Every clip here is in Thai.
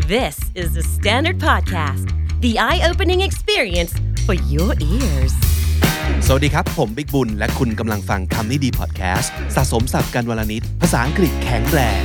This is the Standard Podcast, the eye-opening experience for your ears. สวัสดีครับผมบิ๊กบุญและคุณกำลังฟังคำนี้ดีพอดแคสต์สะสมศัพท์กันวลนิดภาษาอังกฤษแข็งแรง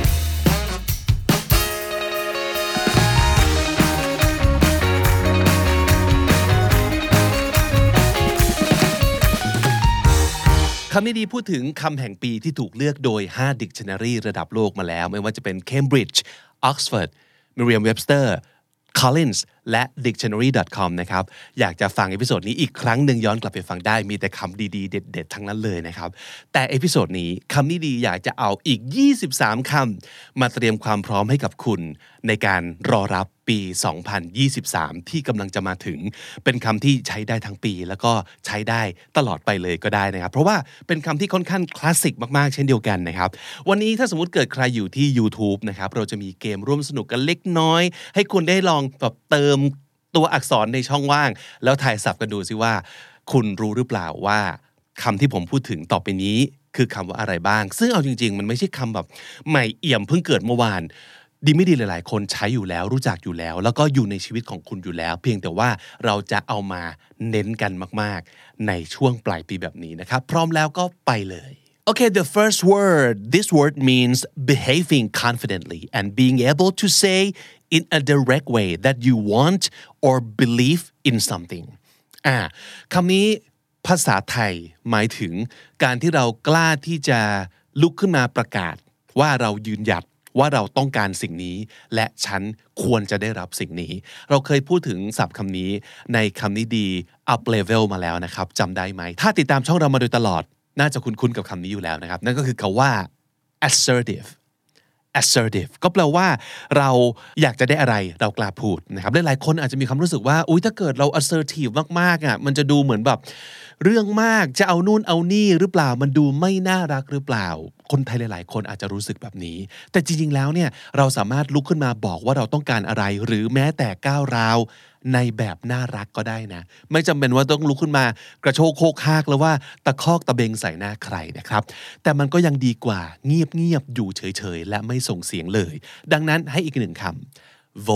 คำนี้ดีพูดถึงคำแห่งปีที่ถูกเลือกโดย5 Dictionary ระดับโลกมาแล้วไม่ว่าจะเป็น Cambridge Oxford Merriam-Webster Collins และ dictionary.com นะครับอยากจะฟังเอพิโซดนี้อีกครั้งหนึ่งย้อนกลับไปฟังได้มีแต่คำดีๆเด็ดๆทั้งนั้นเลยนะครับแต่เอพิโซดนี้คำนี้ดีอยากจะเอาอีก23คำมาเตรียมความพร้อมให้กับคุณในการรอรับปี2023ที่กำลังจะมาถึงเป็นคำที่ใช้ได้ทั้งปีแล้วก็ใช้ได้ตลอดไปเลยก็ได้นะครับเพราะว่าเป็นคำที่ค่อนข้างคลาสสิกมากๆเช่นเดียวกันนะครับวันนี้ถ้าสมมุติเกิดใครอยู่ที่ YouTube นะครับเราจะมีเกมร่วมสนุกกันเล็กน้อยให้คุณได้ลองแบบเติมตัวอักษรในช่องว่างแล้วทายศัพท์กันดูซิว่าคุณรู้หรือเปล่าว่าคำที่ผมพูดถึงต่อไปนี้คือคำว่าอะไรบ้างซึ่งเอาจริงๆมันไม่ใช่คำแบบใหม่เอี่ยมเพิ่งเกิดเมื่อวานดีไม่ดีหลายๆคนใช้อยู่แล้วรู้จักอยู่แล้วแล้วก็อยู่ในชีวิตของคุณอยู่แล้วเพียงแต่ว่าเราจะเอามาเน้นกันมากๆในช่วงปลายปีแบบนี้นะครับพร้อมแล้วก็ไปเลย Okay, the first word. This word means behaving confidently and being able to say in a direct way that you want or believe in something. คำนี้ภาษาไทยหมายถึงการที่เรากล้าที่จะลุกขึ้นมาประกาศว่าเรายืนหยัดว่าเราต้องการสิ่งนี้และฉันควรจะได้รับสิ่งนี้เราเคยพูดถึงศัพท์คำนี้ในคำนี้ดี up level มาแล้วนะครับจำได้ไหมถ้าติดตามช่องเรามาโดยตลอดน่าจะคุ้นๆกับคำนี้อยู่แล้วนะครับนั่นก็คือคำว่า assertive ก็แปลว่าเราอยากจะได้อะไรเรากล้าพูดนะครับหลายๆคนอาจจะมีความรู้สึกว่าอุ๊ยถ้าเกิดเรา assertive มากๆมันจะดูเหมือนแบบเรื่องมากจะเอานู่นเอานี่หรือเปล่ามันดูไม่น่ารักหรือเปล่าคนไทยหลายๆคนอาจจะรู้สึกแบบนี้แต่จริงๆแล้วเนี่ยเราสามารถลุกขึ้นมาบอกว่าเราต้องการอะไรหรือแม้แต่ก้าวร้าวในแบบน่ารักก็ได้นะไม่จำเป็นว่าต้องลุกขึ้นมากระโชกโคกฮากแล้วว่าตะคอกตะเบงใส่หน้าใครนะครับแต่มันก็ยังดีกว่าเงียบๆอยู่เฉยๆและไม่ส่งเสียงเลยดังนั้นให้อีกหนึ่งคำ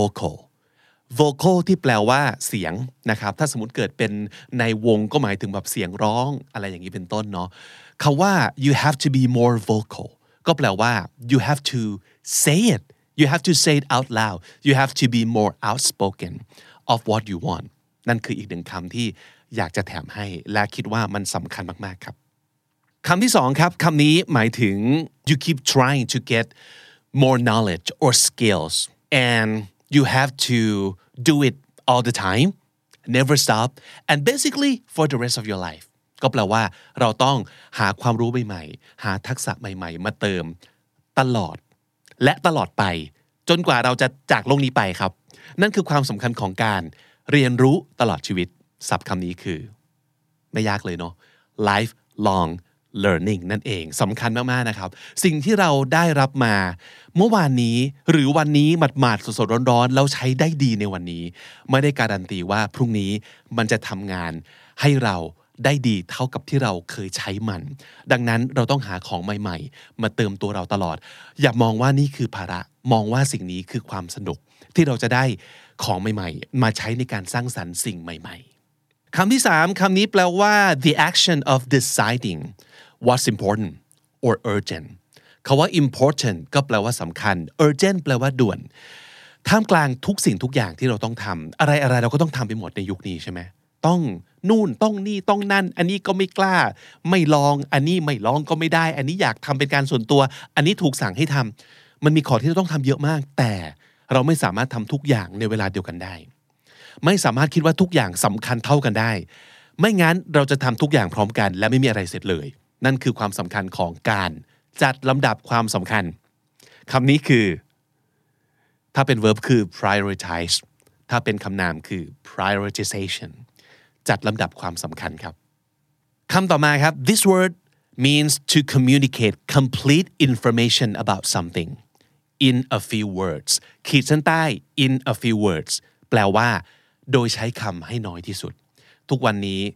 vocal ที่แปลว่าเสียงนะครับถ้าสมมติเกิดเป็นในวงก็หมายถึงแบบเสียงร้องอะไรอย่างนี้เป็นต้นเนาะคำว่า you have to be more vocal ก็แปลว่า you have to say it you have to say it out loud you have to be more outspoken of what you want นั่นคืออีกหนึ่งคำที่อยากจะแถมให้และคิดว่ามันสำคัญมากๆครับคำที่สองครับคำนี้หมายถึง you keep trying to get more knowledge or skills and you have to do it all the time never stop and basically for the rest of your life ก็แปลว่าเราต้องหาความรู้ใหม่ๆหาทักษะใหม่ๆมาเติมตลอดและตลอดไปจนกว่าเราจะจากโลกนี้ไปครับนั่นคือความสำคัญของการเรียนรู้ตลอดชีวิตศัพท์คำนี้คือไม่ยากเลยเนาะ lifelong learning นั่นเองสำคัญมากๆนะครับสิ่งที่เราได้รับมาเมื่อวานนี้หรือวันนี้หมาดๆสดๆร้อนๆแล้วใช้ได้ดีในวันนี้ไม่ได้การันตีว่าพรุ่งนี้มันจะทำงานให้เราได้ดีเท่ากับที่เราเคยใช้มันดังนั้นเราต้องหาของใหม่ๆมาเติมตัวเราตลอดอย่ามองว่านี่คือภาระมองว่าสิ่งนี้คือความสนุกที่เราจะได้ของใหม่ๆมาใช้ในการสร้างสรรค์สิ่งใหม่ๆคำที่3คำนี้แปลว่า the action of deciding what's important or urgent คำว่า important ก็แปลว่าสำคัญ urgent แปลว่าด่วนท่ามกลางทุกสิ่งทุกอย่างที่เราต้องทำอะไรๆเราก็ต้องทำไปหมดในยุคนี้ใช่ไหมต้องนู่นต้องนี่ต้องนั่นอันนี้ก็ไม่กล้าไม่ลองอันนี้ไม่ลองก็ไม่ได้อันนี้อยากทำเป็นการส่วนตัวอันนี้ถูกสั่งให้ทำมันมีข้อที่เราต้องทำเยอะมากแต่เราไม่สามารถทำทุกอย่างในเวลาเดียวกันได้ไม่สามารถคิดว่าทุกอย่างสำคัญเท่ากันได้ไม่งั้นเราจะทำทุกอย่างพร้อมกันและไม่มีอะไรเสร็จเลยนั่นคือความสำคัญของการจัดลำดับความสำคัญคำนี้คือถ้าเป็น verb คือ prioritize ถ้าเป็นคำนามคือ prioritization จัดลำดับความสำคัญครับคำต่อมาครับ this word means to communicate complete information about something in a few words ขีดเส้นใต้ in a few words แปลว่าโดยใช้คำให้น้อยที่สุดทุกวันนี้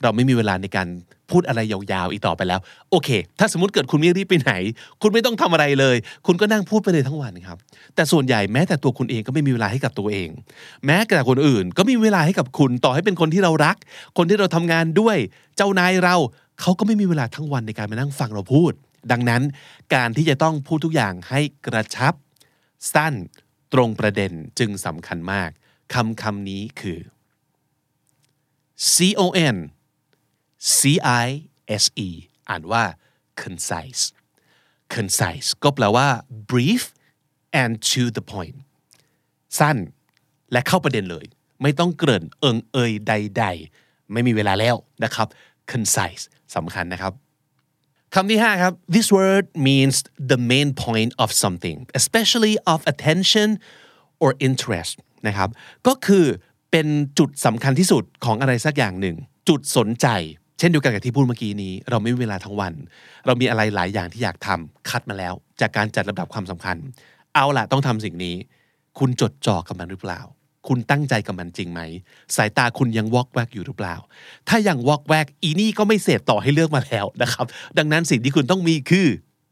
เราไม่มีเวลาในการพูดอะไรยาวๆอีกต่อไปแล้วโอเคถ้าสมมติเกิดคุณไม่รีบไปไหนคุณไม่ต้องทำอะไรเลยคุณก็นั่งพูดไปเลยทั้งวันครับแต่ส่วนใหญ่แม้แต่ตัวคุณเองก็ไม่มีเวลาให้กับตัวเองแม้แต่คนอื่นก็มีเวลาให้กับคุณต่อให้เป็นคนที่เรารักคนที่เราทำงานด้วยเจ้านายเราเขาก็ไม่มีเวลาทั้งวันในการมานั่งฟังเราพูดดังนั้นการที่จะต้องพูดทุกอย่างให้กระชับสั้นตรงประเด็นจึงสำคัญมากคำนี้คือ CONCISE อ่านว่า concise ก็แปลว่า brief and to the point สั้นและเข้าประเด็นเลยไม่ต้องเกริ่นเอิงเอยใดๆไม่มีเวลาแล้วนะครับ concise สำคัญนะครับคำที่5ครับ This word means the main point of something especially of attention or interest นะครับก็คือเป็นจุดสำคัญที่สุดของอะไรสักอย่างหนึ่งจุดสนใจเช่นเดียวกันกับที่พูดเมื่อกี้นี้เราไม่มีเวลาทั้งวันเรามีอะไรหลายอย่างที่อยากทำคัดมาแล้วจากการจัดลำดับความสำคัญเอาล่ะต้องทำสิ่งนี้คุณจดจ่อกับมันหรือเปล่าคุณตั้งใจกับมันจริงไหมสายตาคุณยังวอกแวกอยู่หรือเปล่าถ้ายังวอกแวกอีนี่ก็ไม่เสร็จต่อให้เลือกมาแล้วนะครับดังนั้นสิ่งที่คุณต้องมีคือ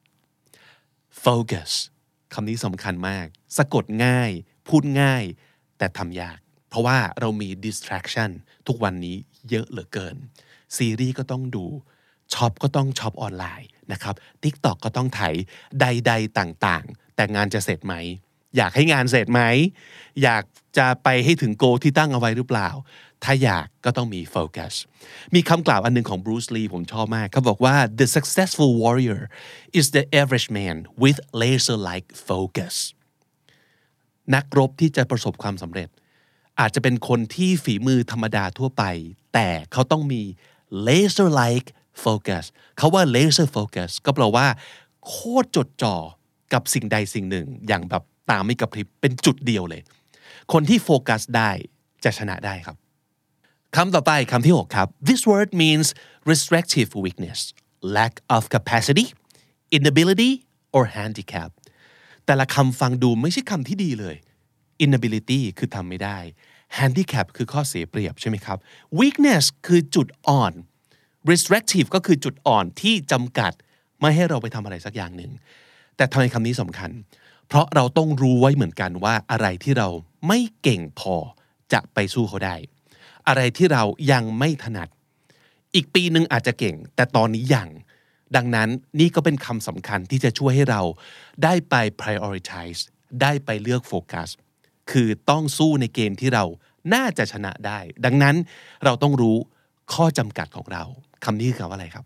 focus คำนี้สำคัญมากสะกดง่ายพูดง่ายแต่ทำยากเพราะว่าเรามี distraction ทุกวันนี้เยอะเหลือเกินซีรีส์ก็ต้องดูช็อปก็ต้องช็อปออนไลน์นะครับ TikTok ก็ต้องไถใดๆต่างๆแต่งานจะเสร็จไหมอยากให้งานเสร็จไหมอยากจะไปให้ถึงโกที่ตั้งเอาไว้หรือเปล่าถ้าอยากก็ต้องมีโฟกัสมีคำกล่าวอันนึงของบรูซลีผมชอบมากเขาบอกว่า the successful warrior is the average man with laser-like focus นักรบที่จะประสบความสำเร็จอาจจะเป็นคนที่ฝีมือธรรมดาทั่วไปแต่เขาต้องมี laser-like focus เขาว่า laser focus ก็แปลว่าโคตรจดจ่อกับสิ่งใดสิ่งหนึ่งอย่างแบบตาไม่กระพริบเป็นจุดเดียวเลยคนที่โฟกัสได้จะชนะได้ครับคำต่อไปคำที่6ครับ This word means restrictive weakness lack of capacity inability or handicap แต่ละคำฟังดูไม่ใช่คำที่ดีเลย inability คือทำไม่ได้ handicap คือข้อเสียเปรียบใช่ไหมครับ weakness คือจุดอ่อน restrictive ก็คือจุดอ่อนที่จำกัดไม่ให้เราไปทำอะไรสักอย่างหนึ่งแต่ทำไมคำนี้สำคัญเพราะเราต้องรู้ไว้เหมือนกันว่าอะไรที่เราไม่เก่งพอจะไปสู้เขาได้อะไรที่เรายังไม่ถนัดอีกปีนึงอาจจะเก่งแต่ตอนนี้ยังดังนั้นนี่ก็เป็นคำสำคัญที่จะช่วยให้เราได้ไป prioritize ได้ไปเลือกโฟกัสคือต้องสู้ในเกมที่เราน่าจะชนะได้ดังนั้นเราต้องรู้ข้อจำกัดของเราคำนี้คือคำว่าอะไรครับ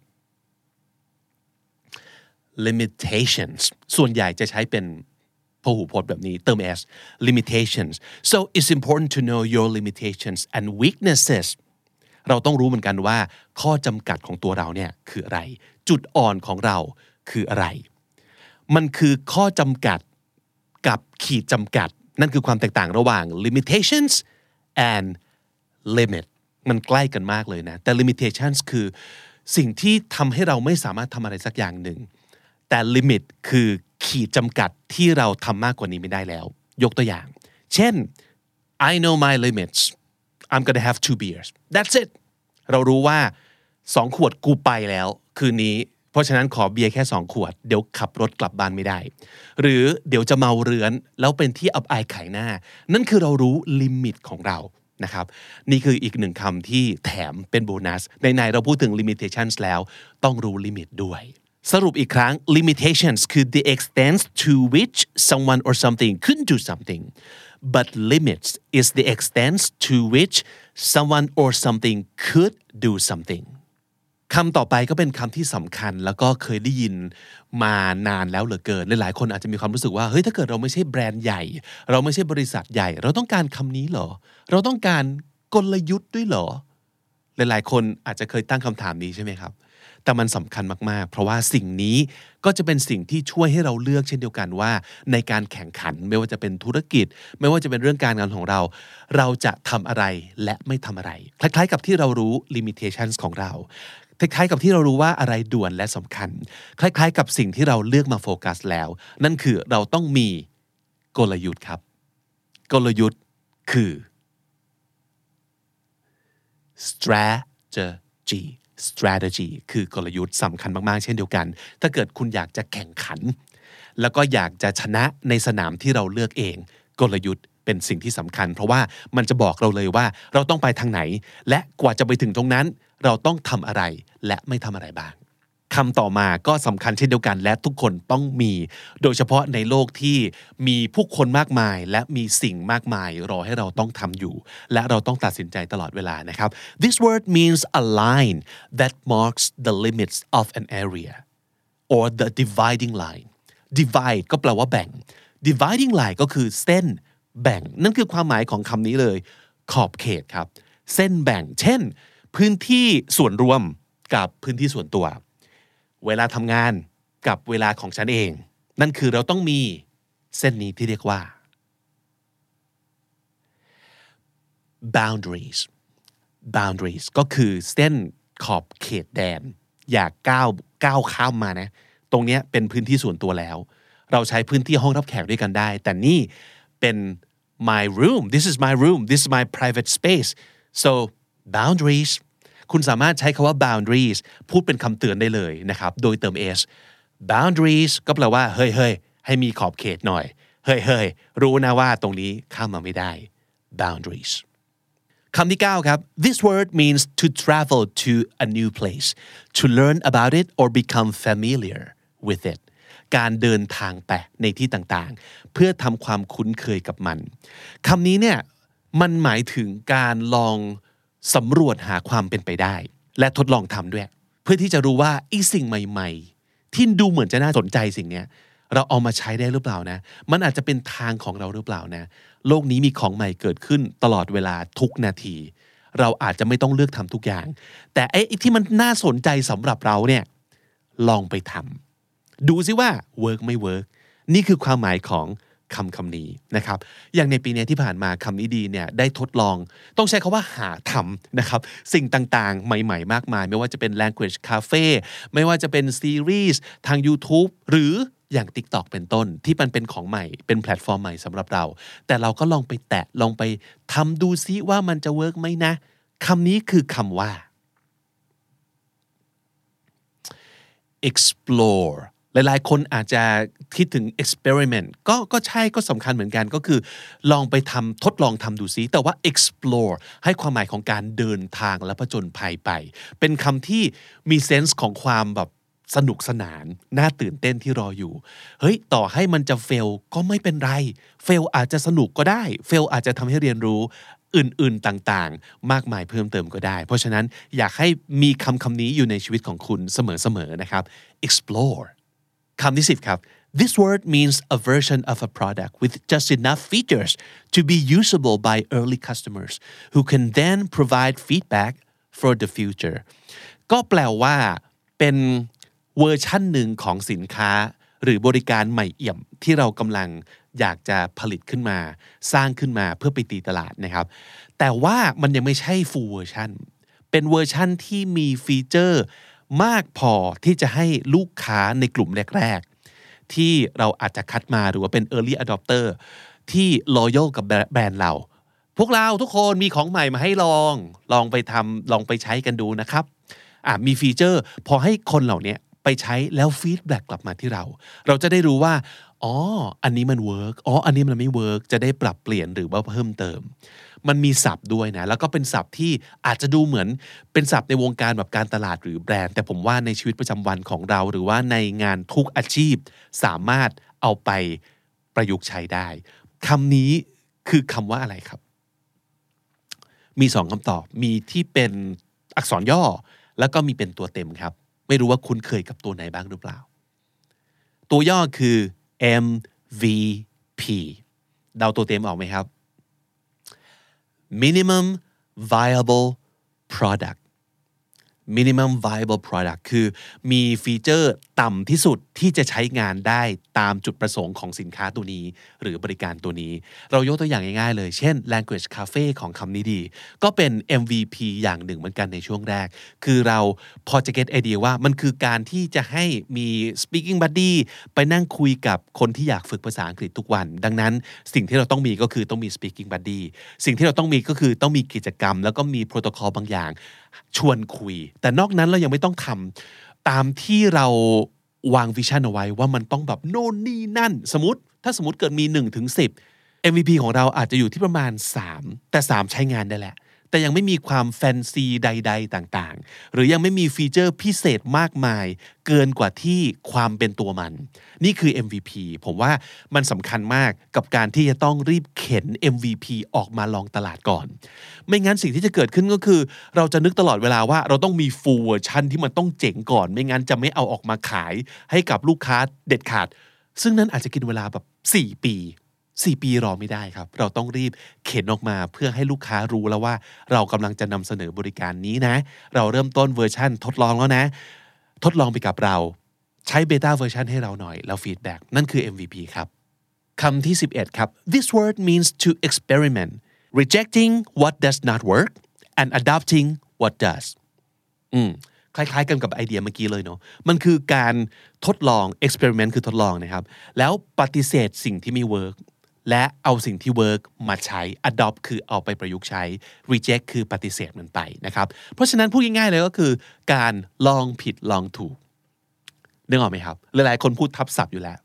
limitations ส่วนใหญ่จะใช้เป็นพหูพจน์แบบนี้เติม s limitations so it's important to know your limitations and weaknesses เราต้องรู้เหมือนกันว่าข้อจำกัดของตัวเราเนี่ยคืออะไรจุดอ่อนของเราคืออะไรมันคือข้อจำกัดกับขีดจำกัดนั่นคือความแตกต่างระหว่าง limitations and limit มันใกล้กันมากเลยนะแต่ limitations คือสิ่งที่ทำให้เราไม่สามารถทำอะไรสักอย่างหนึ่งแต่ limit คือขีดจำกัดที่เราทำมากกว่านี้ไม่ได้แล้วยกตัวอย่างเช่น I know my limits I'm gonna have 2 beers that's it เรารู้ว่า2 ขวดกูไปแล้วคืนนี้เพราะฉะนั้นขอเบียร์แค่2 ขวดเดี๋ยวขับรถกลับบ้านไม่ได้หรือเดี๋ยวจะเมาเรื้อนแล้วเป็นที่อับอายขายหน้านั่นคือเรารู้ลิมิตของเรานะครับนี่คืออีก1คำที่แถมเป็นโบนัสในเราพูดถึง limitations แล้วต้องรู้ลิมิตด้วยสรุปอีกครั้ง limitations คือ the extent to which someone or something couldn't do something but limits is the extent to which someone or something could do something คำต่อไปก็เป็นคำที่สำคัญแล้วก็เคยได้ยินมานานแล้วเหลือเกินหลายๆคนอาจจะมีความรู้สึกว่าเฮ้ยถ้าเกิดเราไม่ใช่แบรนด์ใหญ่เราไม่ใช่บริษัทใหญ่เราต้องการคำนี้เหรอเราต้องการกลยุทธ์ด้วยเหรอหลายๆคนอาจจะเคยตั้งคำถามนี้ใช่ไหมครับแต่มันสำคัญมากๆเพราะว่าสิ่งนี้ก็จะเป็นสิ่งที่ช่วยให้เราเลือกเช่นเดียวกันว่าในการแข่งขันไม่ว่าจะเป็นธุรกิจไม่ว่าจะเป็นเรื่องการงานของเราเราจะทำอะไรและไม่ทำอะไรคล้ายๆกับที่เรารู้ limitations ของเราคล้ายๆกับที่เรารู้ว่าอะไรด่วนและสำคัญคล้ายๆกับสิ่งที่เราเลือกมาโฟกัสแล้วนั่นคือเราต้องมีกลยุทธ์ครับกลยุทธ์คือ strategy G strategy คือกลยุทธ์สำคัญมากๆเช่นเดียวกันถ้าเกิดคุณอยากจะแข่งขันแล้วก็อยากจะชนะในสนามที่เราเลือกเองกลยุทธ์เป็นสิ่งที่สำคัญเพราะว่ามันจะบอกเราเลยว่าเราต้องไปทางไหนและกว่าจะไปถึงตรงนั้นเราต้องทำอะไรและไม่ทำอะไรบ้างคำต่อมาก็สำคัญเช่นเดียวกันและทุกคนต้องมีโดยเฉพาะในโลกที่มีผู้คนมากมายและมีสิ่งมากมายรอให้เราต้องทำอยู่และเราต้องตัดสินใจตลอดเวลานะครับ This word means a line that marks the limits of an area or the dividing line divide ก็แปลว่าแบ่ง dividing line ก็คือเส้นแบ่งนั่นคือความหมายของคำนี้เลยขอบเขตครับเส้นแบ่งเช่นพื้นที่ส่วนรวมกับพื้นที่ส่วนตัวเวลาทำงานกับเวลาของฉันเองนั่นคือเราต้องมีเส้นนี้ที่เรียกว่า boundaries ก็คือเส้นขอบเขตแดนอย่าก้าวข้ามมานะตรงนี้เป็นพื้นที่ส่วนตัวแล้วเราใช้พื้นที่ห้องรับแขกด้วยกันได้แต่นี่เป็น my room this is my room this is my private space so boundaries คุณสามารถใช้คำว่า boundaries พูดเป็นคำเตือนได้เลยนะครับโดยเติม s boundaries ก็แปลว่าเฮ้ยให้มีขอบเขตหน่อยเฮ้ยรู้นะว่าตรงนี้ข้ามมาไม่ได้ boundaries คำที่9ครับ This word means to travel to a new place to learn about it or become familiar with it การเดินทางไปในที่ต่างๆเพื่อทำความคุ้นเคยกับมันคำนี้เนี่ยมันหมายถึงการลองสำรวจหาความเป็นไปได้และทดลองทำด้วยเพื่อที่จะรู้ว่าไอ้สิ่งใหม่ๆที่ดูเหมือนจะน่าสนใจสิ่งเนี้ยเราเอามาใช้ได้หรือเปล่านะมันอาจจะเป็นทางของเราหรือเปล่านะโลกนี้มีของใหม่เกิดขึ้นตลอดเวลาทุกนาทีเราอาจจะไม่ต้องเลือกทำทุกอย่างแต่ไอ้ที่มันน่าสนใจสำหรับเราเนี่ยลองไปทำดูซิว่าเวิร์กไม่เวิร์กนี่คือความหมายของคำนี้นะครับอย่างในปีนี้ที่ผ่านมาคำนี้ดีเนี่ยได้ทดลองต้องใช้คำว่าหาทำนะครับสิ่งต่างๆใหม่ๆมากมายไม่ว่าจะเป็น language cafe ไม่ว่าจะเป็นซีรีส์ทาง YouTube หรืออย่าง TikTok เป็นต้นที่มันเป็นของใหม่เป็นแพลตฟอร์มใหม่สำหรับเราแต่เราก็ลองไปแตะลองไปทำดูซิว่ามันจะเวิร์กไหมนะคำนี้คือคำว่า explore หลายๆคนอาจจะคิดถึง experiment ก็ใช่ก็สำคัญเหมือนกันก็คือลองไปทดลองทำดูซิแต่ว่า explore ให้ความหมายของการเดินทางและผจญภัยไปเป็นคำที่มีเซนส์ของความแบบสนุกสนานน่าตื่นเต้นที่รออยู่เฮ้ยต่อให้มันจะเฟลก็ไม่เป็นไรเฟลอาจจะสนุกก็ได้เฟลอาจจะทำให้เรียนรู้อื่นๆต่างๆมากมายเพิ่มเติมก็ได้เพราะฉะนั้นอยากให้มีคำนี้อยู่ในชีวิตของคุณเสมอๆนะครับ explore คำที่10ครับ This word means a version of a product with just enough features to be usable by early customers who can then provide feedback for the future ก็แปลว่าเป็นเวอร์ชั่นหนึ่งของสินค้าหรือบริการใหม่เอี่ยมที่เรากำลังอยากจะผลิตขึ้นมาสร้างขึ้นมาเพื่อไปตีตลาดนะครับแต่ว่ามันยังไม่ใช่ full version เป็นเวอร์ชั่นที่มีฟีเจอร์มากพอที่จะให้ลูกค้าในกลุ่มแรกๆที่เราอาจจะคัดมาหรือว่าเป็น early adopter ที่ loyal กับแบรนด์เราพวกเราทุกคนมีของใหม่มาให้ลองไปทำลองไปใช้กันดูนะครับมีฟีเจอร์พอให้คนเหล่านี้ไปใช้แล้วฟีดแบ็กกลับมาที่เราจะได้รู้ว่าอันนี้มันเวิร์กอันนี้มันไม่เวิร์กจะได้ปรับเปลี่ยนหรือว่าเพิ่มเติมมันมีศัพท์ด้วยนะแล้วก็เป็นศัพท์ที่อาจจะดูเหมือนเป็นศัพท์ในวงการแบบการตลาดหรือแบรนด์แต่ผมว่าในชีวิตประจำวันของเราหรือว่าในงานทุกอาชีพสามารถเอาไปประยุกต์ใช้ได้คำนี้คือคำว่าอะไรครับมี2คำตอบมีที่เป็นอักษรย่อแล้วก็มีเป็นตัวเต็มครับไม่รู้ว่าคุณเคยกับตัวไหนบ้างหรือเปล่าตัวย่อคือ MVP เดาตัวเต็มออกไหมครับ Minimum Viable Product Minimum Viable Product คือมีฟีเจอร์ต่ำที่สุดที่จะใช้งานได้ตามจุดประสงค์ของสินค้าตัวนี้หรือบริการตัวนี้เรายกตัวอย่างง่ายๆเลยเช่น language cafe ของคำนี้ดีก็เป็น MVP อย่างหนึ่งเหมือนกันในช่วงแรกคือเราพอจะ get idea ว่ามันคือการที่จะให้มี speaking buddy ไปนั่งคุยกับคนที่อยากฝึกภาษาอังกฤษทุกวันดังนั้นสิ่งที่เราต้องมีก็คือต้องมี speaking buddy สิ่งที่เราต้องมีก็คือต้องมีกิจกรรมแล้วก็มีโปรโตคอลบางอย่างชวนคุยแต่นอกนั้นเรายังไม่ต้องทำตามที่เราวางวิชั่นเอาไว้ว่ามันต้องแบบโน่นนี่นั่นถ้าสมมติเกิดมี1ถึง10 MVP ของเราอาจจะอยู่ที่ประมาณ3แต่3ใช้งานได้แหละแต่ยังไม่มีความแฟนซีใดๆต่างๆหรือยังไม่มีฟีเจอร์พิเศษมากมายเกินกว่าที่ความเป็นตัวมันนี่คือ MVP ผมว่ามันสำคัญมากกับการที่จะต้องรีบเข็น MVP ออกมาลองตลาดก่อนไม่งั้นสิ่งที่จะเกิดขึ้นก็คือเราจะนึกตลอดเวลาว่าเราต้องมี full version ที่มันต้องเจ๋งก่อนไม่งั้นจะไม่เอาออกมาขายให้กับลูกค้าเด็ดขาดซึ่งนั้นอาจจะกินเวลาแบบ4 ปีรอไม่ได้ครับเราต้องรีบเข็นออกมาเพื่อให้ลูกค้ารู้แล้วว่าเรากำลังจะนำเสนอบริการนี้นะเราเริ่มต้นเวอร์ชันทดลองแล้วนะทดลองไปกับเราใช้เบต้าเวอร์ชันให้เราหน่อยแล้วฟีดแบ็กนั่นคือ MVP ครับคำที่11ครับ This word means to experiment rejecting what does not work and adopting what does คล้ายๆกันกับไอเดียเมื่อกี้เลยเนาะมันคือการทดลอง experiment คือทดลองนะครับแล้วปฏิเสธสิ่งที่ไม่เวิร์กและเอาสิ่งที่เวิร์กมาใช้ adopt คือเอาไปประยุกต์ใช้ reject คือปฏิเสธมันไปนะครับเพราะฉะนั้นพูดง่ายๆเลยก็คือการลองผิดลองถูกนึกออกไหมครับหลายๆคนพูดทับศัพท์อยู่แล้ว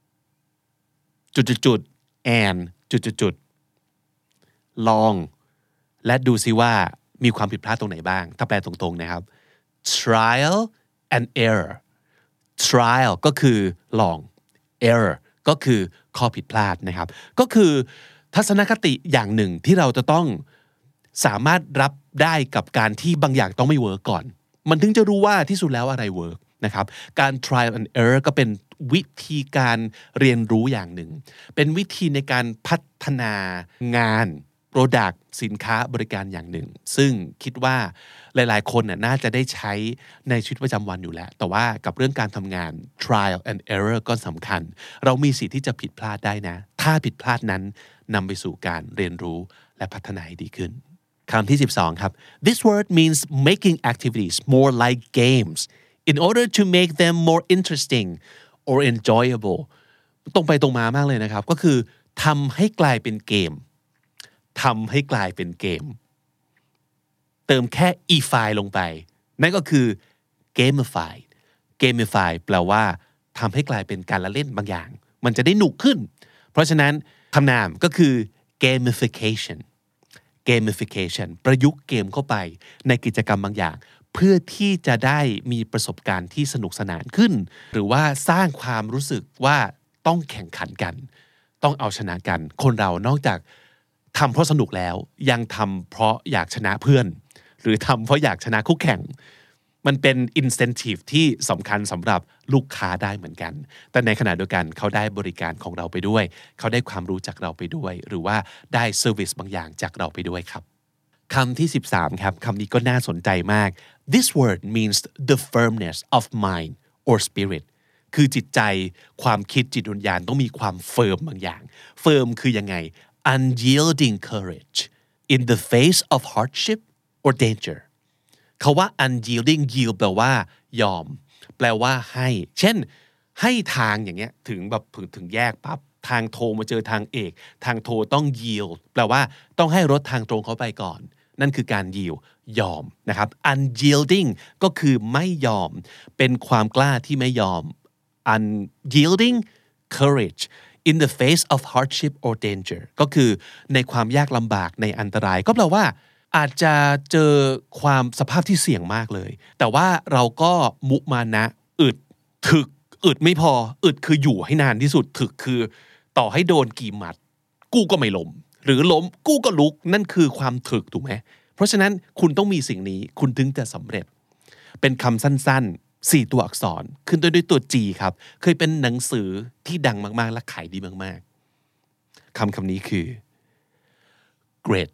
จุดๆ and จุดๆลองและดูซิว่ามีความผิดพลาดตรงไหนบ้างถ้าแปลตรงๆนะครับ trial and error trial ก็คือลอง error ก็คือข้อผิดพลาดนะครับก็คือทัศนคติอย่างหนึ่งที่เราจะต้องสามารถรับได้กับการที่บางอย่างต้องไม่เวิร์กก่อนมันถึงจะรู้ว่าที่สุดแล้วอะไรเวิร์กนะครับการ trial and error ก็เป็นวิธีการเรียนรู้อย่างหนึ่งเป็นวิธีในการพัฒนางาน product สินค้าบริการอย่างหนึ่งซึ่งคิดว่าหลายๆคนน่าจะได้ใช้ในชีวิตประจำวันอยู่แล้วแต่ว่ากับเรื่องการทำงาน trial and error ก็สำคัญเรามีสิทธิ์ที่จะผิดพลาดได้นะถ้าผิดพลาดนั้นนำไปสู่การเรียนรู้และพัฒนาให้ดีขึ้นคำที่12ครับ This word means making activities more like games in order to make them more interesting or enjoyable ตรงไปตรงมามากเลยนะครับก็คือทำให้กลายเป็นเกมเติมแค่ e-file ลงไปนั่นก็คือ gamify แปลว่าทำให้กลายเป็นการละเล่นบางอย่างมันจะได้หนุกขึ้นเพราะฉะนั้นคำนามก็คือ gamification ประยุกต์เกมเข้าไปในกิจกรรมบางอย่างเพื่อที่จะได้มีประสบการณ์ที่สนุกสนานขึ้นหรือว่าสร้างความรู้สึกว่าต้องแข่งขันกันต้องเอาชนะกันคนเรานอกจากทำเพราะสนุกแล้วยังทำเพราะอยากชนะเพื่อนหรือทำเพราะอยากชนะคู่แข่งมันเป็น incentive ที่สำคัญสำหรับลูกค้าได้เหมือนกันแต่ในขณะเดียวกันเขาได้บริการของเราไปด้วยเขาได้ความรู้จากเราไปด้วยหรือว่าได้ service บางอย่างจากเราไปด้วยครับคำที่13ครับคำนี้ก็น่าสนใจมาก This word means the firmness of mind or spirit คือจิตใจความคิดจิตวิญญาณต้องมีความเฟิร์มบางอย่างเฟิร์มคือยังไงunyielding courage in the face of hardship or danger เขาว่า unyielding yield แปลว่ายอมแปลว่าให้เช่นให้ทางอย่างเงี้ยถึงแยกปั๊บทางโทมาเจอทางเอกทางโทต้อง yield แปลว่าต้องให้รถทางตรงเขาไปก่อนนั่นคือการ yield ยอมนะครับ unyielding ก็คือไม่ยอมเป็นความกล้าที่ไม่ยอม unyielding courage in the face of hardship or danger ก็คือในความยากลำบากในอันตรายก็แปลว่าอาจจะเจอความสภาพที่เสี่ยงมากเลยแต่ว่าเราก็มุมานะอึดไม่พออึดคืออยู่ให้นานที่สุดถึกคือต่อให้โดนกี่หมัดกู้ก็ไม่ล้มหรือล้มกู้ก็ลุกนั่นคือความถึกถูกไหมเพราะฉะนั้นคุณต้องมีสิ่งนี้คุณถึงจะสำเร็จเป็นคำสั้นๆ4ตัวอักษรขึ้นต้นด้วยตัว G ครับเคยเป็นหนังสือที่ดังมากๆและขายดีมากๆคำนี้คือ grit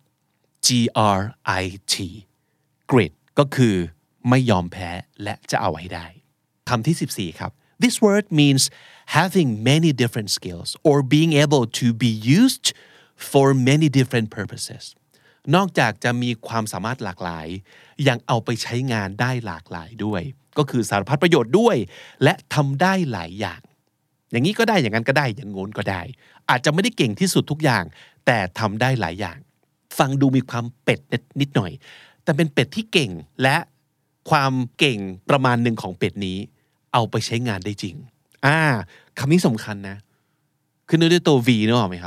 grit ก็คือไม่ยอมแพ้และจะเอาให้ได้คำที่14ครับ This word means having many different skills or being able to be used for many different purposes นอกจากจะมีความสามารถหลากหลายยังเอาไปใช้งานได้หลากหลายด้วยก็คือสารพัดประโยชน์ด้วยและทำได้หลายอย่างอย่างนี้ก็ได้อย่างนั้นก็ได้อย่างโน้นก็ได้อาจจะไม่ได้เก่งที่สุดทุกอย่างแต่ทำได้หลายอย่างฟังดูมีความเป็ดนิดหน่อยแต่เป็นเป็ดที่เก่งและความเก่งประมาณหนึ่งของเป็ดนี้เอาไปใช้งานได้จริงคำนี้สำคัญนะขึ้นด้วยตัว V นึกออกไหมครับ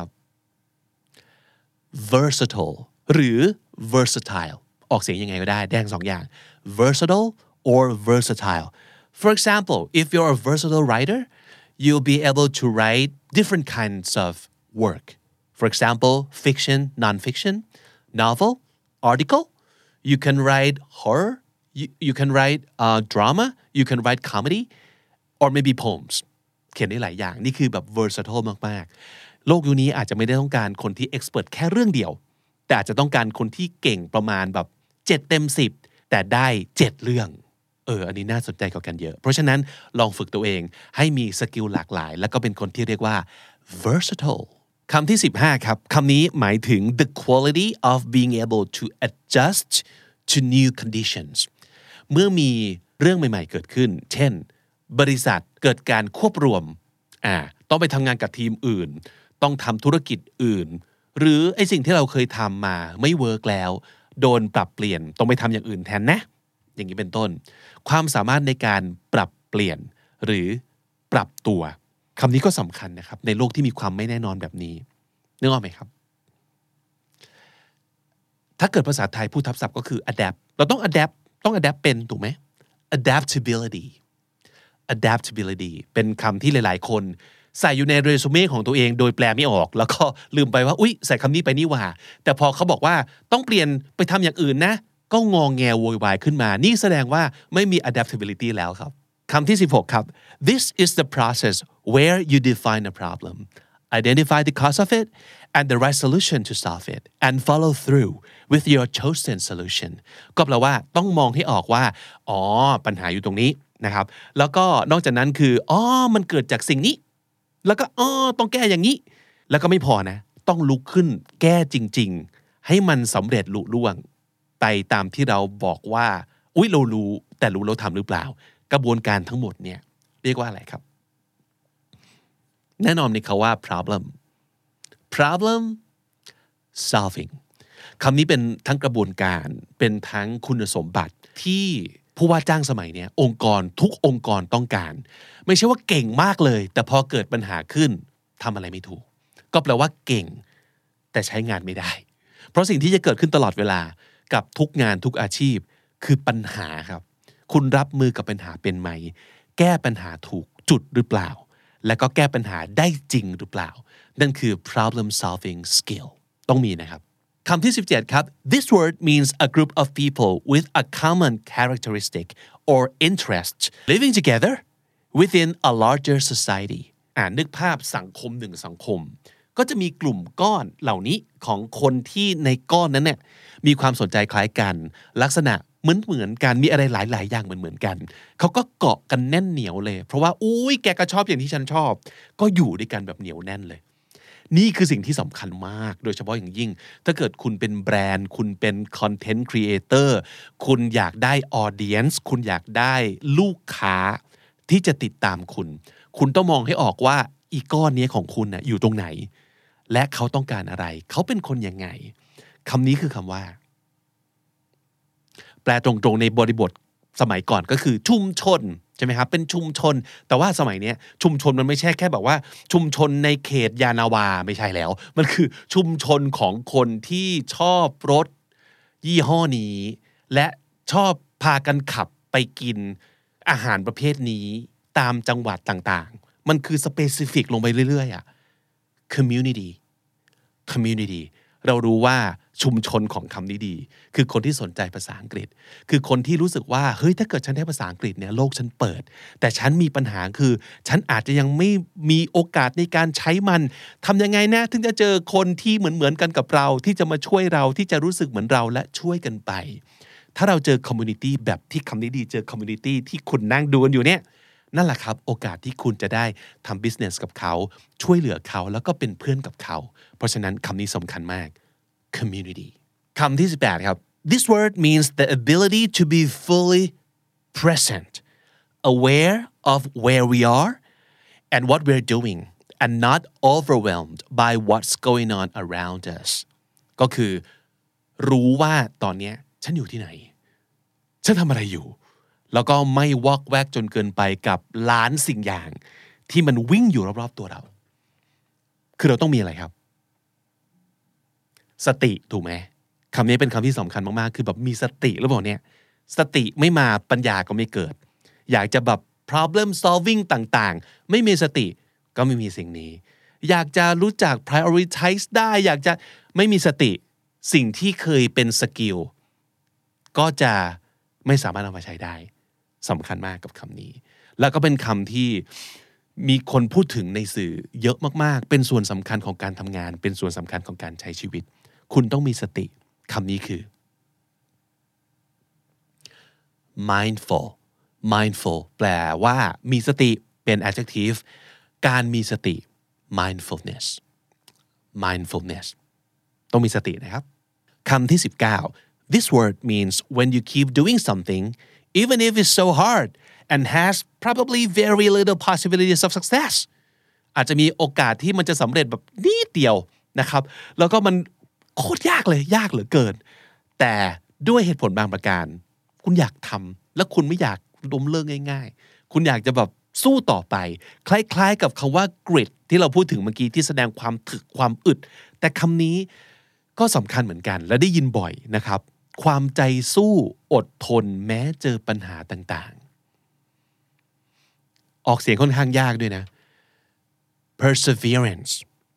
versatile หรือ versatile ออกเสียงยังไงก็ได้แดงสองอย่าง versatile or versatile for example if you're a versatile writer you'll be able to write different kinds of work for example fiction non-fiction novel article you can write horror you can write drama you can write comedy or maybe poems เขียนได้หลายอย่างนี่คือแบบ versatile มากๆโลกยุคนี้อาจจะไม่ได้ต้องการคนที่ expert แค่เรื่องเดียวแต่อาจจะต้องการคนที่เก่งประมาณแบบ7 เต็ม 10แต่ได้7เรื่องอันนี้น่าสนใจกว่ากันเยอะเพราะฉะนั้นลองฝึกตัวเองให้มีสกิลหลากหลายแล้วก็เป็นคนที่เรียกว่า versatile คำที่15ครับคำนี้หมายถึง the quality of being able to adjust to new conditions เมื่อมีเรื่องใหม่ๆเกิดขึ้นเช่นบริษัทเกิดการควบรวมต้องไปทำงานกับทีมอื่นต้องทำธุรกิจอื่นหรือไอ้สิ่งที่เราเคยทำมาไม่เวิร์กแล้วโดนปรับเปลี่ยนต้องไปทำอย่างอื่นแทนนะอย่างนี้เป็นต้นความสามารถในการปรับเปลี่ยนหรือปรับตัวคำนี้ก็สำคัญนะครับในโลกที่มีความไม่แน่นอนแบบนี้นึกออกไหมครับถ้าเกิดภาษาไทยพูดทับศัพท์ก็คือ adapt เราต้อง adapt เป็นถูกไหม adaptability เป็นคำที่หลายๆคนใส่อยู่ในเรซูเม่ของตัวเองโดยแปลไม่ออกแล้วก็ลืมไปว่าอุ๊ยใส่คำนี้ไปนี่หว่าแต่พอเขาบอกว่าต้องเปลี่ยนไปทำอย่างอื่นนะก็งอแงโวยวายขึ้นมานี่แสดงว่าไม่มี adaptability แล้วครับคำที่16ครับ This is the process where you define a problem identify the cause of it and the right solution to solve it and follow through with your chosen solution ก็แปลว่าต้องมองให้ออกว่าปัญหาอยู่ตรงนี้นะครับแล้วก็นอกจากนั้นคือมันเกิดจากสิ่งนี้แล้วก็ต้องแก้อย่างนี้แล้วก็ไม่พอนะต้องลุกขึ้นแก้จริงๆให้มันสำเร็จลุล่วงไปตามที่เราบอกว่าอุ๊ยเรารู้แต่รู้เราทำหรือเปล่ากระบวนการทั้งหมดเนี่ยเรียกว่าอะไรครับแน่นอนในคำว่า problem solving คำนี้เป็นทั้งกระบวนการเป็นทั้งคุณสมบัติที่ผู้ว่าจ้างสมัยนี้องค์กรทุกองค์กรต้องการไม่ใช่ว่าเก่งมากเลยแต่พอเกิดปัญหาขึ้นทำอะไรไม่ถูกก็แปลว่าเก่งแต่ใช้งานไม่ได้เพราะสิ่งที่จะเกิดขึ้นตลอดเวลากับทุกงานทุกอาชีพคือปัญหาครับคุณรับมือกับปัญหาเป็นไหมแก้ปัญหาถูกจุดหรือเปล่าและก็แก้ปัญหาได้จริงหรือเปล่านั่นคือ problem solving skill ต้องมีนะครับคำที่17ครับ This word means a group of people with a common characteristic or interest living together within a larger society นึกภาพสังคมหนึ่งสังคมก็จะมีกลุ่มก้อนเหล่านี้ของคนที่ในก้อนนั้นเนี่ยมีความสนใจคล้ายกันลักษณะเหมือนกันมีอะไรหลายๆอย่างเหมือนกันเขาก็เกาะกันแน่นเหนียวเลยเพราะว่าอุ้ยแกก็ชอบอย่างที่ฉันชอบก็อยู่ด้วยกันแบบเหนียวแน่นเลยนี่คือสิ่งที่สำคัญมากโดยเฉพาะอย่างยิ่งถ้าเกิดคุณเป็นแบรนด์คุณเป็นคอนเทนต์ครีเอเตอร์คุณอยากได้ออเดียนซ์คุณอยากได้ลูกค้าที่จะติดตามคุณต้องมองให้ออกว่าอีก้อนนี้ของคุณน่ะอยู่ตรงไหนและเขาต้องการอะไรเขาเป็นคนยังไงคำนี้คือคำว่าแปลตรงๆในบริบทสมัยก่อนก็คือชุมชนใช่ไหมครับเป็นชุมชนแต่ว่าสมัยนี้ชุมชนมันไม่ใช่แค่แบบว่าชุมชนในเขตยานาวาไม่ใช่แล้วมันคือชุมชนของคนที่ชอบรถยี่ห้อนี้และชอบพากันขับไปกินอาหารประเภทนี้ตามจังหวัดต่างๆมันคือสเปซิฟิกลงไปเรื่อยๆcommunity เรารู้ว่าชุมชนของคำนี้ดีคือคนที่สนใจภาษาอังกฤษคือคนที่รู้สึกว่าเฮ้ยถ้าเกิดฉันได้ภาษาอังกฤษเนี่ยโลกฉันเปิดแต่ฉันมีปัญหาคือฉันอาจจะยังไม่มีโอกาสในการใช้มันทำยังไงนะถึงจะเจอคนที่เหมือนกันกับเราที่จะมาช่วยเราที่จะรู้สึกเหมือนเราและช่วยกันไปถ้าเราเจอคอมมูนิตี้แบบที่คำนี้ดีเจอคอมมูนิตี้ที่คุณนั่งดูกันอยู่เนี่ยนั่นแหละครับโอกาสที่คุณจะได้ทำ business กับเขาช่วยเหลือเขาแล้วก็เป็นเพื่อนกับเขาเพราะฉะนั้นคำนี้สำคัญมาก community คำที่18ครับ This word means the ability to be fully present aware of where we are and what we're doing and not overwhelmed by what's going on around us ก็คือรู้ว่าตอนนี้ฉันอยู่ที่ไหนฉันทำอะไรอยู่แล้วก็ไม่วอกแวกจนเกินไปกับล้านสิ่งอย่างที่มันวิ่งอยู่รอบๆตัวเราคือเราต้องมีอะไรครับสติถูกไหมคำนี้เป็นคำที่สำคัญมากๆคือแบบมีสติหรือเปล่าเนี่ยสติไม่มาปัญญาก็ไม่เกิดอยากจะแบบ problem solving ต่างๆไม่มีสติก็ไม่มีสิ่งนี้อยากจะรู้จัก prioritize ได้อยากจะไม่มีสติสิ่งที่เคยเป็นสกิลก็จะไม่สามารถเอามาใช้ได้สำคัญมากกับคำนี้แล้วก็เป็นคำที่มีคนพูดถึงในสื่อเยอะมากๆเป็นส่วนสำคัญของการทำงานเป็นส่วนสำคัญของการใช้ชีวิตคุณต้องมีสติคำนี้คือ mindful แปลว่ามีสติเป็น adjective การมีสติ mindfulness ต้องมีสตินะครับคำที่19 This word means when you keep doing something even if it's so hard and has probably very little possibilities of success อาจจะมีโอกาสที่มันจะสำเร็จแบบนิดเดียวนะครับแล้วก็มันโคตรยากเลยยากเหลือเกินแต่ด้วยเหตุผลบางประการคุณอยากทำและคุณไม่อยากล้มเลิกง่ายๆคุณอยากจะแบบสู้ต่อไปคล้ายๆกับคำว่า grit ที่เราพูดถึงเมื่อกี้ที่แสดงความถึกความอึดแต่คำนี้ก็สำคัญเหมือนกันและได้ยินบ่อยนะครับความใจสู้อดทนแม้เจอปัญหาต่างๆออกเสียงค่อนข้างยากด้วยนะ perseverance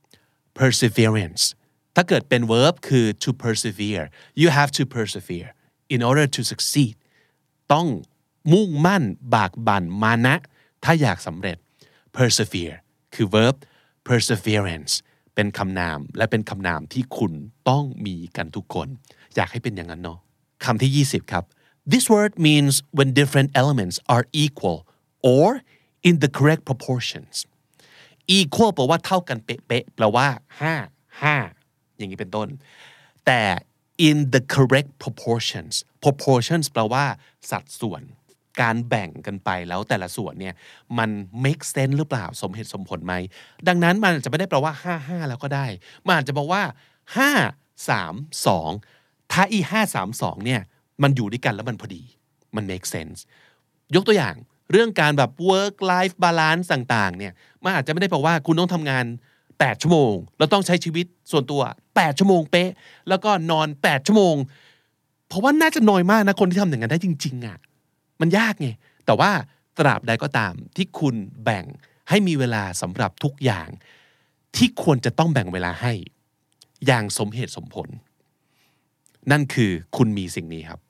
ถ้าเกิดเป็น verb คือ to persevere you have to persevere in order to succeed ต้องมุ่งมั่นบากบั่นมานะถ้าอยากสำเร็จ persevere คือ verb perseverance เป็นคำนามและเป็นคำนามที่คุณต้องมีกันทุกคนอยากให้เป็นอย่างนั้นเนาะคำที่20ครับ This word means when different elements are equal or in the correct proportions equal แปลว่าเท่ากันเป๊ะๆแปลว่า5 อย่างนี้เป็นต้นแต่ in the correct proportions แปลว่าสัดส่วนการแบ่งกันไปแล้วแต่ละส่วนเนี่ยมัน make sense หรือเปล่าสมเหตุสมผลไหมดังนั้นมันอาจจะไม่ได้แปลว่า5แล้วก็ได้มันอาจจะบอกว่า5 3 2ถ้า5 3 2เนี่ยมันอยู่ด้วยกันแล้วมันพอดีมัน make sense ยกตัวอย่างเรื่องการแบบ work life balance ต่างๆเนี่ยมันอาจจะไม่ได้แปลว่าคุณต้องทำงาน8 ชั่วโมงแล้วต้องใช้ชีวิตส่วนตัว8 ชั่วโมงเป๊ะแล้วก็นอน8 ชั่วโมงเพราะว่าน่าจะน้อยมากนะคนที่ทำอย่างนั้นได้จริงๆอ่ะมันยากไงแต่ว่าตราบใดก็ตามที่คุณแบ่งให้มีเวลาสำหรับทุกอย่างที่ควรจะต้องแบ่งเวลาให้อย่างสมเหตุสมผลนั่นคือคุณมีสิ่งนี้ครับ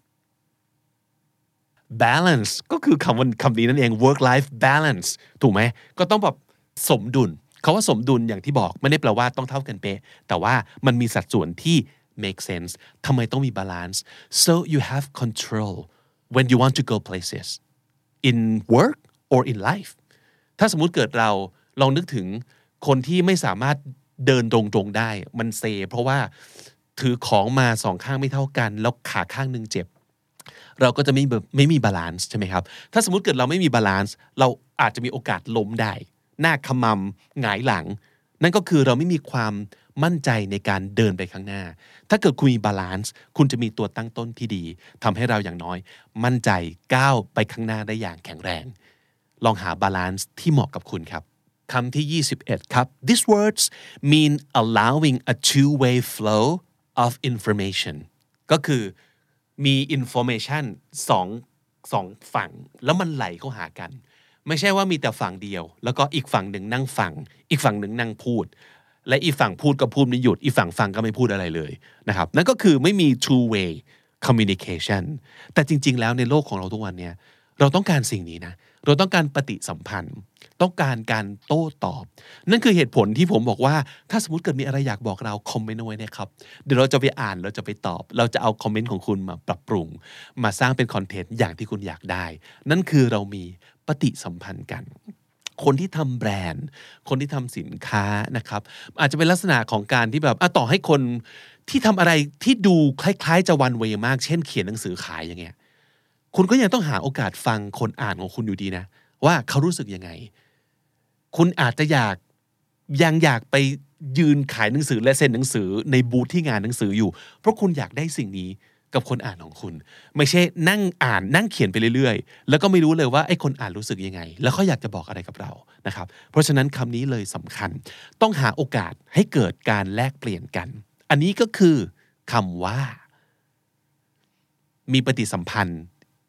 balance ก็คือคำนี้นั่นเอง work life balance ถูกไหมก็ต้องแบบสมดุลคำว่าสมดุลอย่างที่บอกไม่ได้แปลว่าต้องเท่ากันเป๊ะแต่ว่ามันมีสัดส่วนที่ make sense ทำไมต้องมี balance so you have control when you want to go places in work or in life ถ้าสมมุติเกิดเราลองนึกถึงคนที่ไม่สามารถเดินตรงๆได้มันเซเพราะว่าถือของมา2 ข้างไม่เท่ากันแล้วขาข้างนึงเจ็บเราก็จะไม่มีบาลานซ์ใช่ไหมครับถ้าสมมุติเกิดเราไม่มีบาลานซ์เราอาจจะมีโอกาสล้มได้หน้าขมำหงายหลังนั่นก็คือเราไม่มีความมั่นใจในการเดินไปข้างหน้าถ้าเกิดคุณมีบาลานซ์คุณจะมีตัวตั้งต้นที่ดีทำให้เราอย่างน้อยมั่นใจก้าวไปข้างหน้าได้อย่างแข็งแรงลองหาบาลานซ์ที่เหมาะกับคุณครับคำที่21ครับ These words mean allowing a two-way flow of information ก็คือมี information สองฝั่งแล้วมันไหลเข้าหากันไม่ใช่ว่ามีแต่ฝั่งเดียวแล้วก็อีกฝั่งหนึ่งนั่งฟังอีกฝั่งหนึ่งนั่งพูดและอีกฝั่งพูดก็พูดไม่หยุดอีกฝั่งฟังก็ไม่พูดอะไรเลยนะครับนั่นก็คือไม่มี two way communication แต่จริงๆแล้วในโลกของเราทุกวันนี้เราต้องการสิ่งนี้นะเราต้องการปฏิสัมพันธ์ต้องการการโต้ตอบนั่นคือเหตุผลที่ผมบอกว่าถ้าสมมติเกิดมีอะไรอยากบอกเราคอมเมนต์เอาไว้นะครับเดี๋ยวเราจะไปอ่านเราจะไปตอบเราจะเอาคอมเมนต์ของคุณมาปรับปรุงมาสร้างเป็นคอนเทนต์อย่างที่คุณอยากได้นั่นคือเรามีปฏิสัมพันธ์กันคนที่ทำแบรนด์คนที่ทำสินค้านะครับอาจจะเป็นลักษณะของการที่แบบต่อให้คนที่ทำอะไรที่ดูคล้ายๆจะวันเวย์มากเช่นเขียนหนังสือขายอย่างเงี้ยคุณก็ยังต้องหาโอกาสฟังคนอ่านของคุณอยู่ดีนะว่าเขารู้สึกยังไงคุณอาจจะยังอยากไปยืนขายหนังสือและเซ็นหนังสือในบูธที่งานหนังสืออยู่เพราะคุณอยากได้สิ่งนี้กับคนอ่านของคุณไม่ใช่นั่งอ่านนั่งเขียนไปเรื่อยๆแล้วก็ไม่รู้เลยว่าไอ้คนอ่านรู้สึกยังไงแล้วเขาอยากจะบอกอะไรกับเรานะครับเพราะฉะนั้นคำนี้เลยสำคัญต้องหาโอกาสให้เกิดการแลกเปลี่ยนกันอันนี้ก็คือคำว่ามีปฏิสัมพันธ์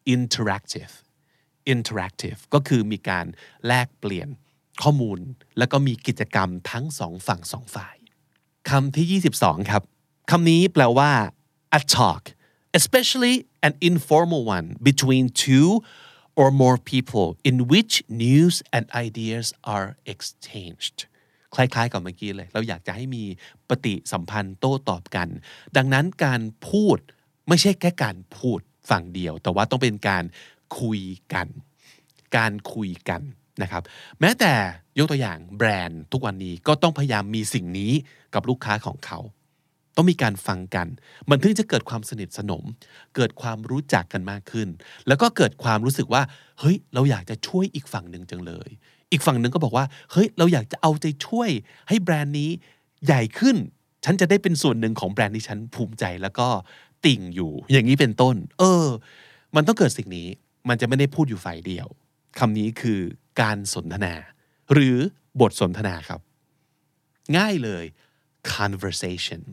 interactive ก็คือมีการแลกเปลี่ยนข้อมูลแล้วก็มีกิจกรรมทั้งสองฝั่งสองฝ่ายคำที่22ครับคำนี้แปลว่า a talk especially an informal one between two or more people in which news and ideas are exchanged คล้ายๆกับเมื่อกี้เลยเราอยากจะให้มีปฏิสัมพันธ์โต้ตอบกันดังนั้นการพูดไม่ใช่แค่การพูดฝั่งเดียวแต่ว่าต้องเป็นการคุยกันนะครับแม้แต่ยกตัวอย่างแบรนด์ทุกวันนี้ก็ต้องพยายามมีสิ่งนี้กับลูกค้าของเขาต้องมีการฟังกันมันถึงจะเกิดความสนิทสนมเกิดความรู้จักกันมากขึ้นแล้วก็เกิดความรู้สึกว่าเฮ้ยเราอยากจะช่วยอีกฝั่งหนึ่งจังเลยอีกฝั่งหนึ่งก็บอกว่าเฮ้ยเราอยากจะเอาใจช่วยให้แบรนด์นี้ใหญ่ขึ้นฉันจะได้เป็นส่วนหนึ่งของแบรนด์ที่ฉันภูมิใจแล้วก็ติ่งอยู่อย่างนี้เป็นต้นมันต้องเกิดสิ่งนี้มันจะไม่ได้พูดอยู่ฝ่ายเดียวคำนี้คือการสนทนาหรือบทสนทนาครับง่ายเลย conversation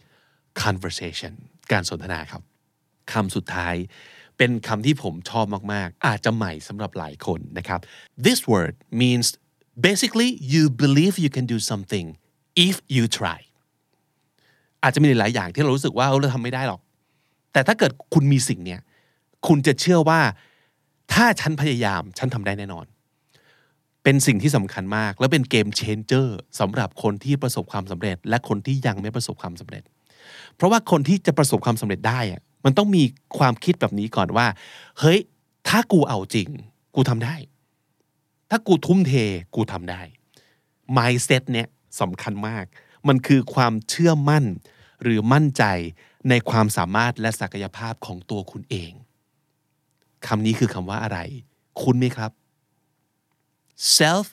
การสนทนาครับคำสุดท้ายเป็นคำที่ผมชอบมากๆอาจจะใหม่สำหรับหลายคนนะครับ This word means basically you believe you can do something if you try อาจจะมีหลายอย่างที่เรารู้สึกว่าเราทำไม่ได้หรอกแต่ถ้าเกิดคุณมีสิ่งเนี้ยคุณจะเชื่อว่าถ้าฉันพยายามฉันทำได้แน่นอนเป็นสิ่งที่สำคัญมากและเป็นเกมเชนเจอร์สำหรับคนที่ประสบความสำเร็จและคนที่ยังไม่ประสบความสำเร็จเพราะว่าคนที่จะประสบความสำเร็จได้มันต้องมีความคิดแบบนี้ก่อนว่าเฮ้ยถ้ากูเอาจริงกูทำได้ถ้ากูทุ่มเทกูทำได้ mindset เนี่ยสำคัญมากมันคือความเชื่อมั่นหรือมั่นใจในความสามารถและศักยภาพของตัวคุณเองคำนี้คือคำว่าอะไรคุ้นไหมครับ self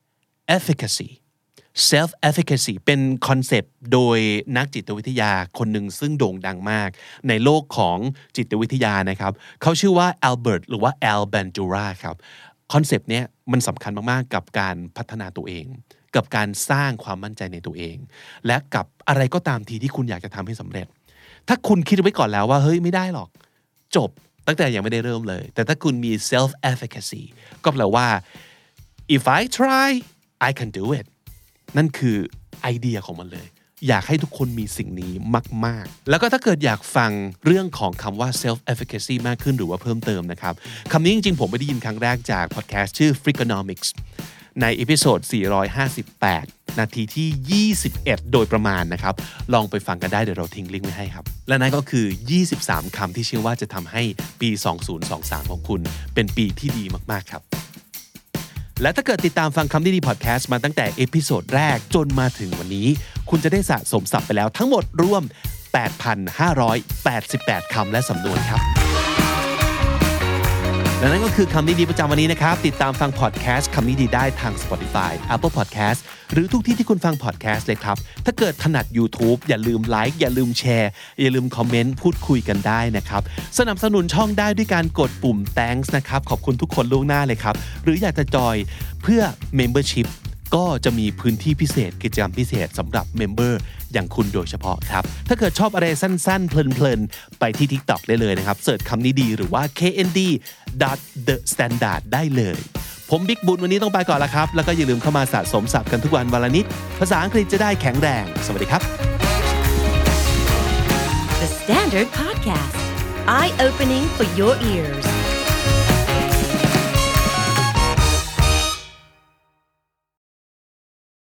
efficacy เป็นคอนเซปต์โดยนักจิตวิทยาคนหนึ่งซึ่งโด่งดังมากในโลกของจิตวิทยานะครับเขาชื่อว่าอัลเบิร์ตหรือว่าแอลแบนจูราครับคอนเซปต์เนี้ยมันสำคัญมากๆกับการพัฒนาตัวเองกับการสร้างความมั่นใจในตัวเองและกับอะไรก็ตามทีที่คุณอยากจะทำให้สำเร็จถ้าคุณคิดไว้ก่อนแล้วว่าเฮ้ยไม่ได้หรอกจบตั้งแต่ยังไม่ได้เริ่มเลยแต่ถ้าคุณมี self efficacy ก็แปลว่า if I try I can do it นั่นคือไอเดียของมันเลยอยากให้ทุกคนมีสิ่งนี้มากๆแล้วก็ถ้าเกิดอยากฟังเรื่องของคำว่า self efficacy มากขึ้นหรือว่าเพิ่มเติมนะครับคำนี้จริงๆผมไม่ได้ยินครั้งแรกจากพอดแคสต์ชื่อ Freakonomics ในเอพิโซด458นาทีที่21โดยประมาณนะครับลองไปฟังกันได้เดี๋ยวเราทิ้งลิงก์ไว้ให้ครับและนั่นก็คือ23คำที่เชื่อว่าจะทำให้ปี2023ของคุณเป็นปีที่ดีมากๆครับและถ้าเกิดติดตามฟังคำดีๆพอดแคสต์มาตั้งแต่เอพิโซดแรกจนมาถึงวันนี้คุณจะได้สะสมศัพท์ไปแล้วทั้งหมดรวม 8,588 คำและสำนวนครับและนั่นก็คือคำนี้ดีประจำวันนี้นะครับติดตามฟังพอดแคสต์คำนี้ดีได้ทาง Spotify Apple Podcast หรือทุกที่ที่คุณฟังพอดแคสต์เลยครับถ้าเกิดถนัด YouTube อย่าลืมไลค์อย่าลืมแชร์อย่าลืมคอมเมนต์พูดคุยกันได้นะครับสนับสนุนช่องได้ด้วยการกดปุ่ม Thanks นะครับขอบคุณทุกคนล่วงหน้าเลยครับหรืออยากจะจอยเพื่อ Membership ก็จะมีพื้นที่พิเศษกิจกรรมพิเศษสำหรับเมมเบอร์อย่างคุณโดยเฉพาะครับถ้าเกิดชอบอะไรสั้นๆเพลินๆไปที่ TikTok ได้เลยนะครับเสิร์ชคำนี้ดีหรือว่า knd.thestandard ได้เลยผมบิ๊กบุญวันนี้ต้องไปก่อนแล้วครับแล้วก็อย่าลืมเข้ามาสะสมศัพท์กันทุกวันวันละนิดภาษาอังกฤษจะได้แข็งแรงสวัสดีครับ The Standard Podcast Eye Opening for Your Ears